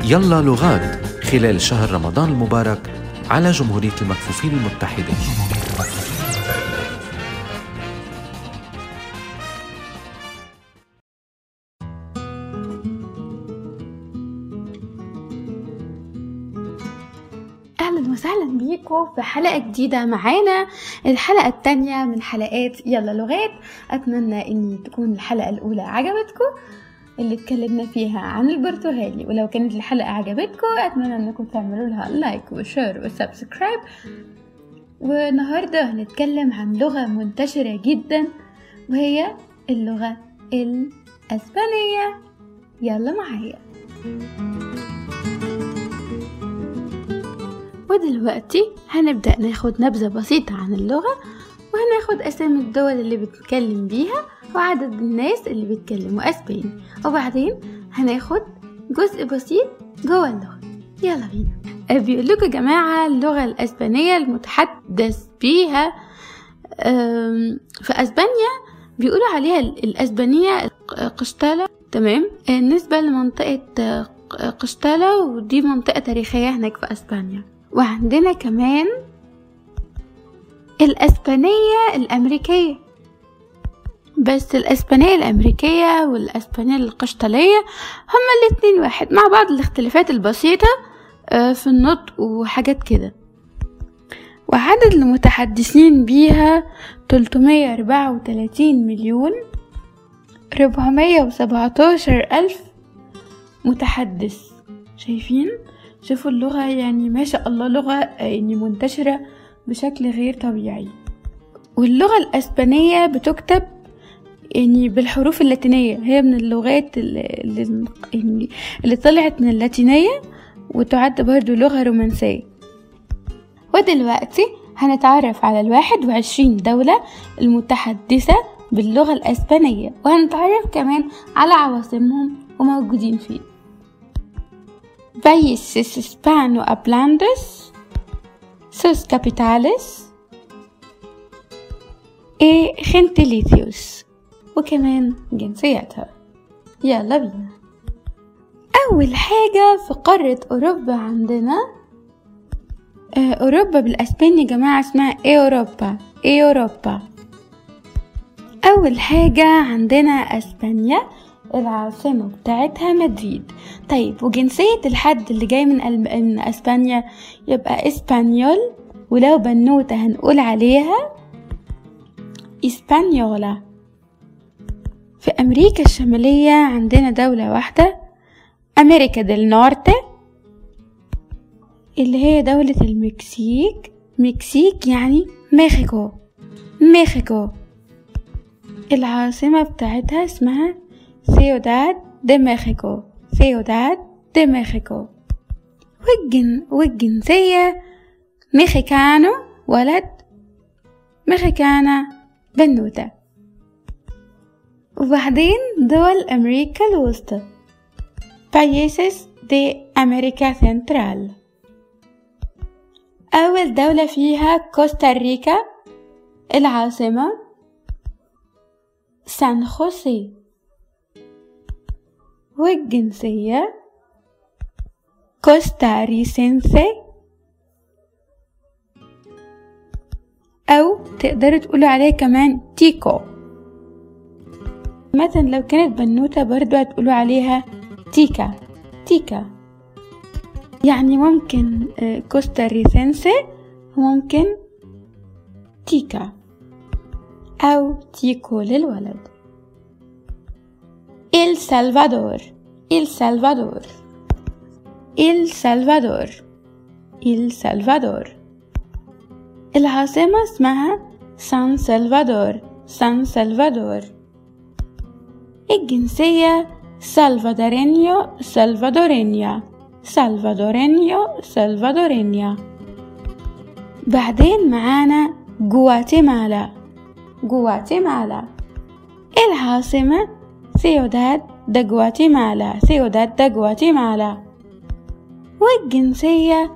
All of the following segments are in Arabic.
يلا لغات خلال شهر رمضان المبارك على جمهورية المكفوفين المتحدة. أهلا وسهلا بيكم في حلقة جديدة معانا، الحلقة التانية من حلقات يلا لغات. أتمنى أن تكون الحلقة الأولى عجبتكم اللي اتكلمنا فيها عن البرتغالي، ولو كانت الحلقة عجبتكم أتمنى أنكم تعملوا لها لايك وشير وسبسكرايب. والنهاردة هنتكلم عن لغة منتشرة جدا وهي اللغة الأسبانية. يلا معايا. ودلوقتي هنبدأ ناخد نبذة بسيطة عن اللغة، وهناخد أسامي الدول اللي بتتكلم بيها وعدد الناس اللي بيتكلموا أسباني، وبعدين هناخد جزء بسيط جوه اللغة. يلا بينا. بيقول لكم يا جماعة اللغة الأسبانية المتحدث بيها في أسبانيا بيقولوا عليها الأسبانية قشتالة، تمام؟ بالنسبة لمنطقة قشتالة، ودي منطقة تاريخية هناك في أسبانيا. وعندنا كمان الأسبانية الأمريكية، بس الأسبانية الأمريكية والأسبانية القشتالية هما الاتنين واحد، مع بعض الاختلافات البسيطة في النطق وحاجات كده. وعدد المتحدثين بيها 334,417,000 متحدث. شايفين؟ شوفوا اللغة، يعني ما شاء الله لغة يعني منتشرة بشكل غير طبيعي. واللغة الأسبانية بتكتب يعني بالحروف اللاتينية، هي من اللغات اللي طلعت من اللاتينية، وتعد برضو لغة رومانسية. ودلوقتي هنتعرف على 21 دولة المتحدثة باللغة الأسبانية، وهنتعرف كمان على عواصمهم وموجودين فين. Países hispanohablantes, sus capitales y gentilicios، وكمان جنسياتها. يلا بينا. أول حاجة في قارة أوروبا عندنا أوروبا بالأسباني يا جماعة اسمها أوروبا. أول حاجة عندنا أسبانيا، العاصمة بتاعتها مدريد. طيب، وجنسية الحد اللي جاي من أسبانيا يبقى إسبانيول، ولو بنوتة هنقول عليها إسبانيولا. في أمريكا الشمالية عندنا دولة واحدة، أمريكا ديل نورte، اللي هي دولة المكسيك. مكسيك يعني ميخيكو. العاصمة بتاعتها اسمها Ciudad de México. والجنسية ميخيكانو ولد، ميخيكانا بنوتة. وبعدين دول أمريكا الوسطى، Países de América Central. أول دولة فيها كوستاريكا، العاصمة سان خوسيه. والجنسية كوستاريسنسي، أو تقدروا تقولوا عليه كمان تيكو. مثلا لو كانت بنوتة برضو هتقولوا عليها تيكا. يعني ممكن كوستاريسنسي، وممكن تيكا أو تيكو للولد. إل سلفادور. العاصمة اسمها سان سلفادور. الجنسية سلفادورينيا. بعدين معانا غواتيمالا. العاصمة Ciudad de Guatemala. والجنسية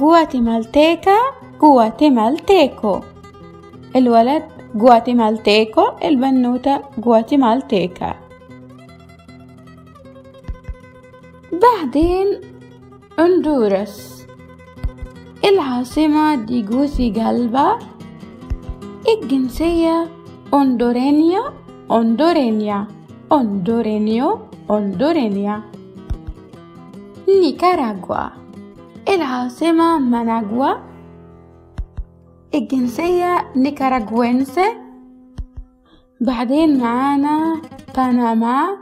جواتيمالتيكو. الولد جواتيمالتيكو، البنوتة جواتيمالتيكا. بعدين هندوراس. العاصمة تيغوسيغالبا. الجنسية هندورينيا هندورينيا هندورينيو هندورينيا. نيكاراغوا. العاصمة ماناغوا. الجنسية نيكاراغوينسي. بعدين معانا بنما.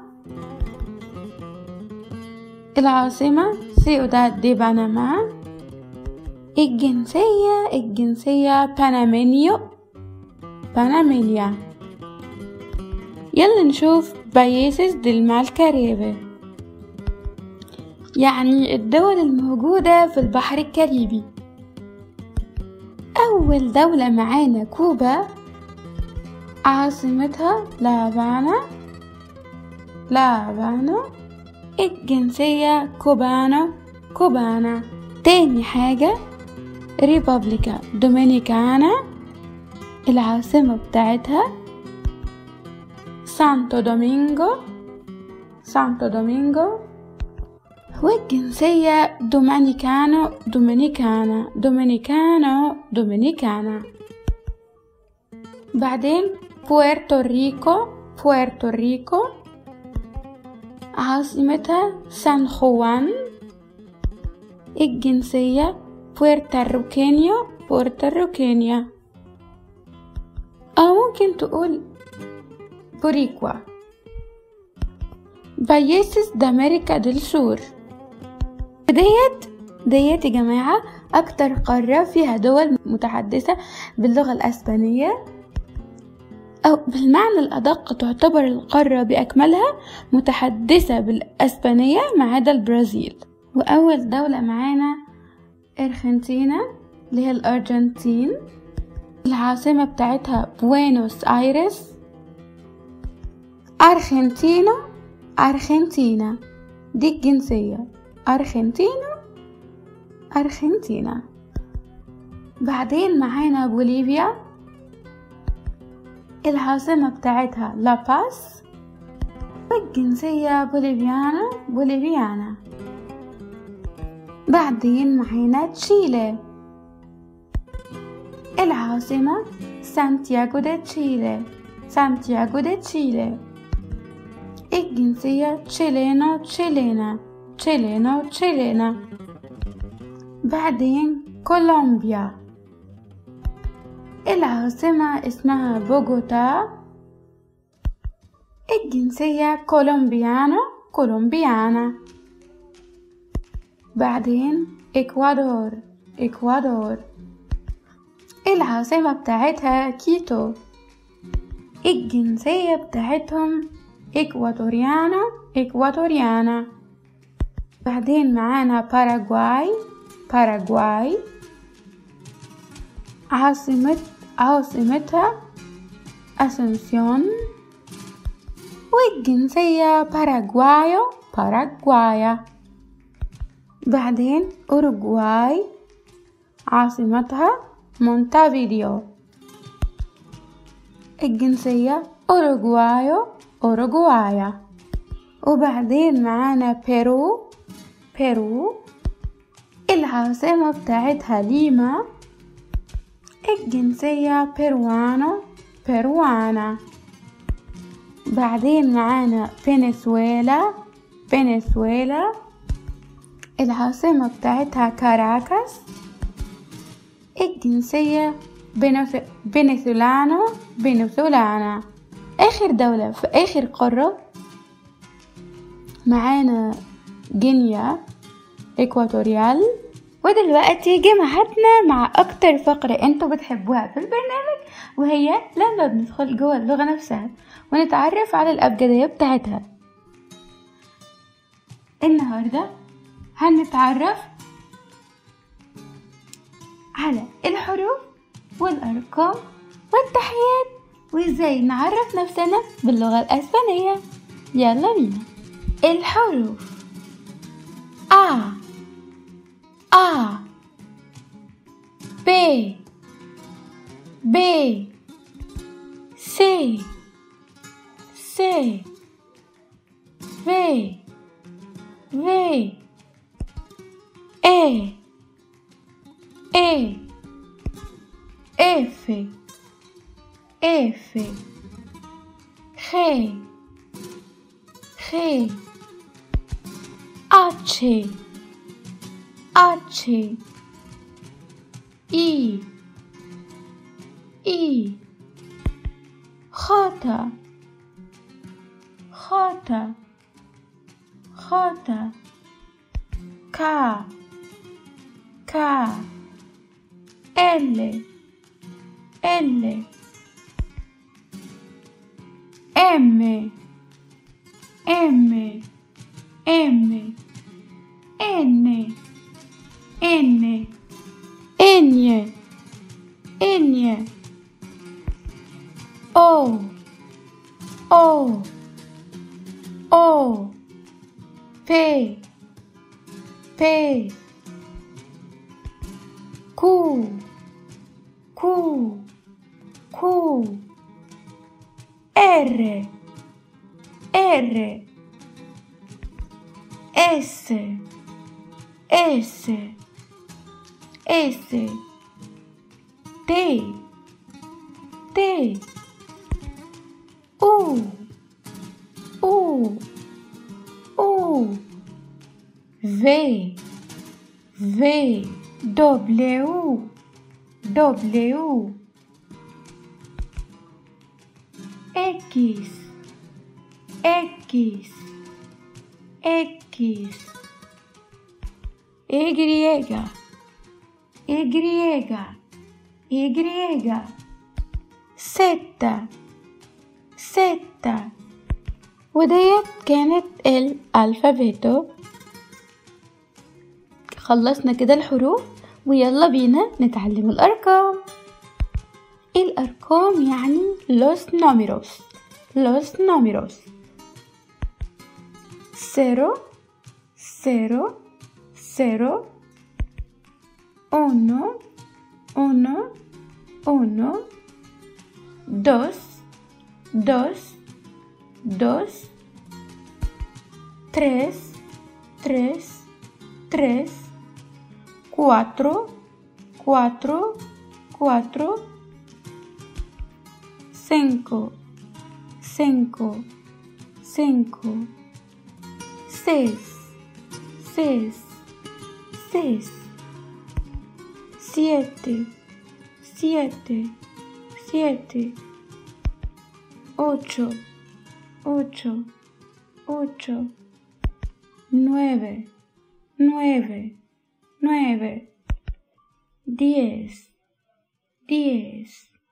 العاصمة سيوداد دي بنما. الجنسية بنامينيو بنامينيا. يلا نشوف بايسز ديل كاريبي، يعني الدول الموجودة في البحر الكاريبي. أول دولة معانا كوبا، عاصمتها لافانا. الجنسية كوبانا. تاني حاجة ريبابليكا دومينيكانا. العاصمة بتاعتها سانتو دومينغو. والجنسية دومينيكانا. بعدين بويرتو ريكو. عاصمتها سان خوان. الجنسية بورتوريكينيا، أو ممكن تقول بوريكوا. بايسز دامريكا ديل سور. ديت يا جماعة أكتر قارة فيها دول متحدثة باللغة الأسبانية، أو بالمعنى الأدق تعتبر القارة بأكملها متحدثة بالأسبانية ما عدا البرازيل. وأول دولة معانا أرجنتينا، اللي هي الأرجنتين. العاصمة بتاعتها بوينوس آيرس. أرجنتينا دي الجنسية أرجنتينا. بعدين معانا بوليفيا. العاصمة بتاعتها لاباس. والجنسية بوليفيانا. بعدين معانا تشيلي. العاصمة سانتياغو دي تشيلي. الجنسية تشيلينا. بعدين كولومبيا. العاصمة اسمها بوغوتا. الجنسية كولومبيانا. بعدين إكوادور. العاصمة بتاعتها كيتو. الجنسية بتاعتهم إكواتوريانا. بعدين معانا باراغواي. عاصمتها أسنسيون. والجنسية باراغوايا. بعدين أوروغواي، عاصمتها مونتافيديو. الجنسية أوروغوايا. وبعدين معانا بيرو. العاصمة بتاعتها ليما. الجنسية بيروانا. بعدين معانا فنزويلا. العاصمة بتاعتها كاراكاس. الجنسية فنزويلانا. آخر دولة في آخر قارة معانا غينيا إكواتوريال. ودلوقتي جمعتنا مع أكتر فقرة انتوا بتحبوها في البرنامج، وهي لما بندخل جوه اللغة نفسها ونتعرف على الأبجدية بتاعتها. النهاردة هنتعرف على الحروف والأرقام والتحيات، وإزاي نعرف نفسنا باللغة الأسبانية. يلا بينا. الحروف: A B B C V E, E, F, F, G, G, H, H, I, I, J, J, J, K, K, L, L, M, M, M, N, N, N, N, O, O, O, P, P, Q, Q, Q, R, R, S, S, S, T, T, U, U, U, V, V, W, W, X, X, X, Y, Y, Y, Z، Z. وديت كانت الألفابيتو. خلصنا كده الحروف ويلا بينا نتعلم الأرقام. الأرقام يعني los números. Los números. 0 0 0 1 1 1 2 2 2 3 3 3 4 4 4 5 5 5 6 6 6 7 7 7 8 8 8 9 9 9 10 10.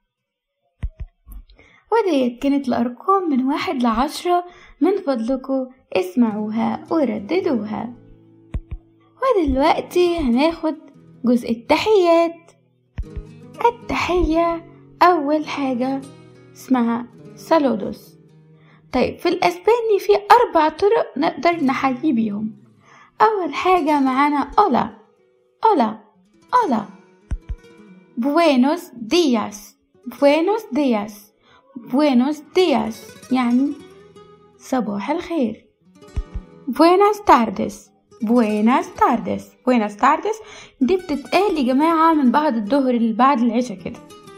وديت كانت الأرقام من 1 ل10. من فضلكم اسمعوها ورددوها. ودلوقتي هناخد جزء التحيات. التحية أول حاجة اسمها سالودوس. طيب في الأسباني في 4 طرق نقدر نحيي بيهم. أول حاجة معانا أولا أولا أولا. buenos días buenos días buenos días يعني صباح الخير. buenas tardes buenas tardes buenas tardes دي بتتقال يا جماعة من بعد الظهر اللي بعد العشاء كده.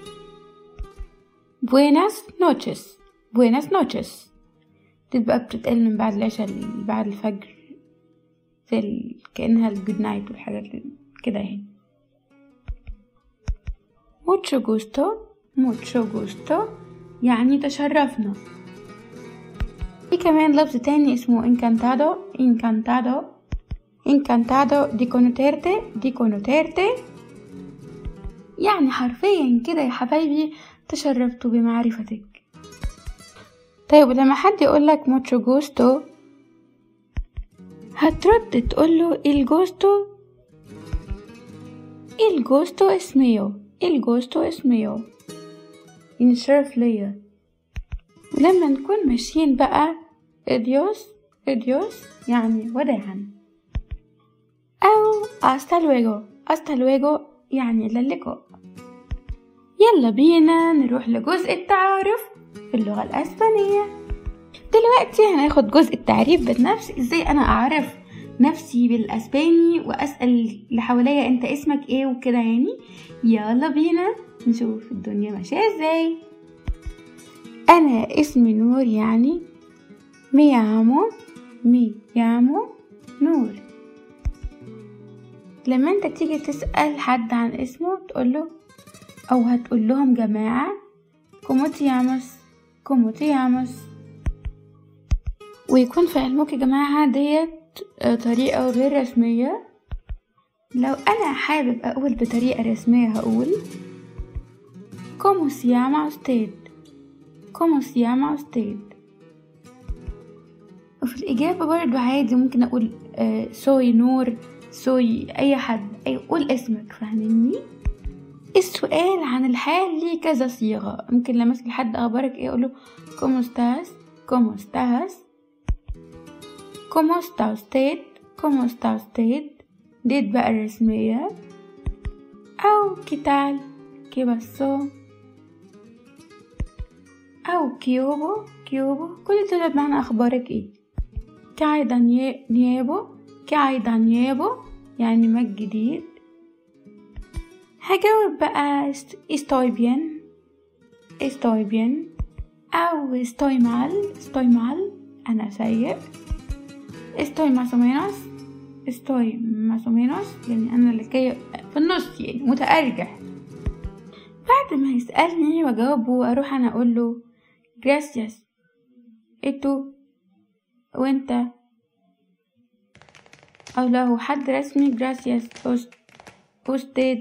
buenas noches buenas noches تبقى بتتقال من بعد العشاء اللي بعد الفجر زي كأنها الجود نايت والحاجات كده يعني. mucho gusto يعني تشرفنا. في كمان لفظ تاني اسمه encantado de conocerte يعني حرفيا كده يا حبايبي تشرفت بمعرفتك. طيب لما حد يقولك mucho gusto هترد تقوله el gusto es mío يعني شرف ليا. لما نكون ماشيين بقى adios يعني وداعا أو hasta luego يعني للقاء. يلا بينا نروح لجزء التعارف في اللغة الأسبانية. دلوقتي هناخد جزء التعريف بالنفس. ازاي أنا أعرف نفسي بالاسباني واسأل اللي حواليا انت اسمك ايه وكده يعني. يلا بينا نشوف الدنيا ماشية ازاي. انا اسمي نور، يعني ميامو نور. لما انت تيجي تسأل حد عن اسمه تقوله او هتقول لهم جماعة كومو تي ياموس. ويكون في علمك يا جماعة ديت طريقة غير رسمية. لو انا حابب اقول بطريقة رسمية هقول كومو سي llama usted. وفي الإجابة برضو عادي ممكن أقول سوي نور، سوي أي حد، قول اسمك، فاهمني؟ السؤال عن الحال ليه كذا صيغة. ممكن لما أسأل حد أخبارك ايه أقوله كومو estás كومو está usted ديت بقى الرسمية. أو كيتال كي باسو، أو كيوبو كل دول بمعنى أخبارك ايه. كايدا نيابو يعني ما الجديد. هجاوب بقى estoy bien أو estoy mal أنا سيء. estoy más o menos يعني أنا اللي في النص، يعني متأرجح. بعد ما يسألني وأجاوبه أروح أنا أقوله gracias إتو وانت، أو لو حد رسمي gracias usted.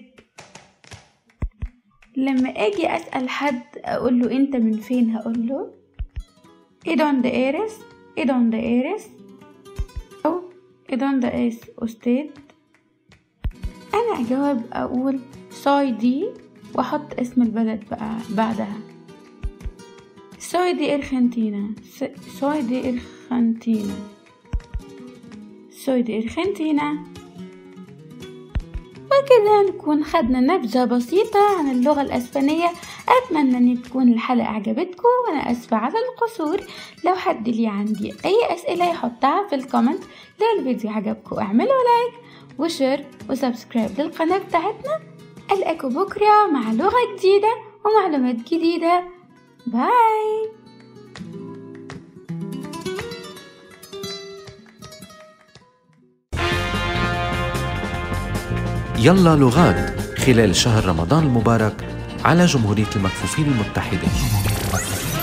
لما أجي أسأل حد أقوله أنت من فين هقوله ¿y dónde eres أو ¿y dónde es usted. أنا أجاوب أقول soy دي وأحط اسم البلد بقى بعدها. soy de Argentina. وكذا نكون خدنا نبذة بسيطة عن اللغة الأسبانية. أتمنى أن تكون الحلقة عجبتكم، وأنا أسفة على القصور. لو حد لي عندي أي أسئلة يحطها في الكومنت. لو الفيديو عجبكم اعملوا لايك وشير وسبسكرايب للقناة بتاعتنا. ألقاكم بكرة مع لغة جديدة ومعلومات جديدة. باي. يلا لغات خلال شهر رمضان المبارك على جمهورية المكفوفين المتحدة.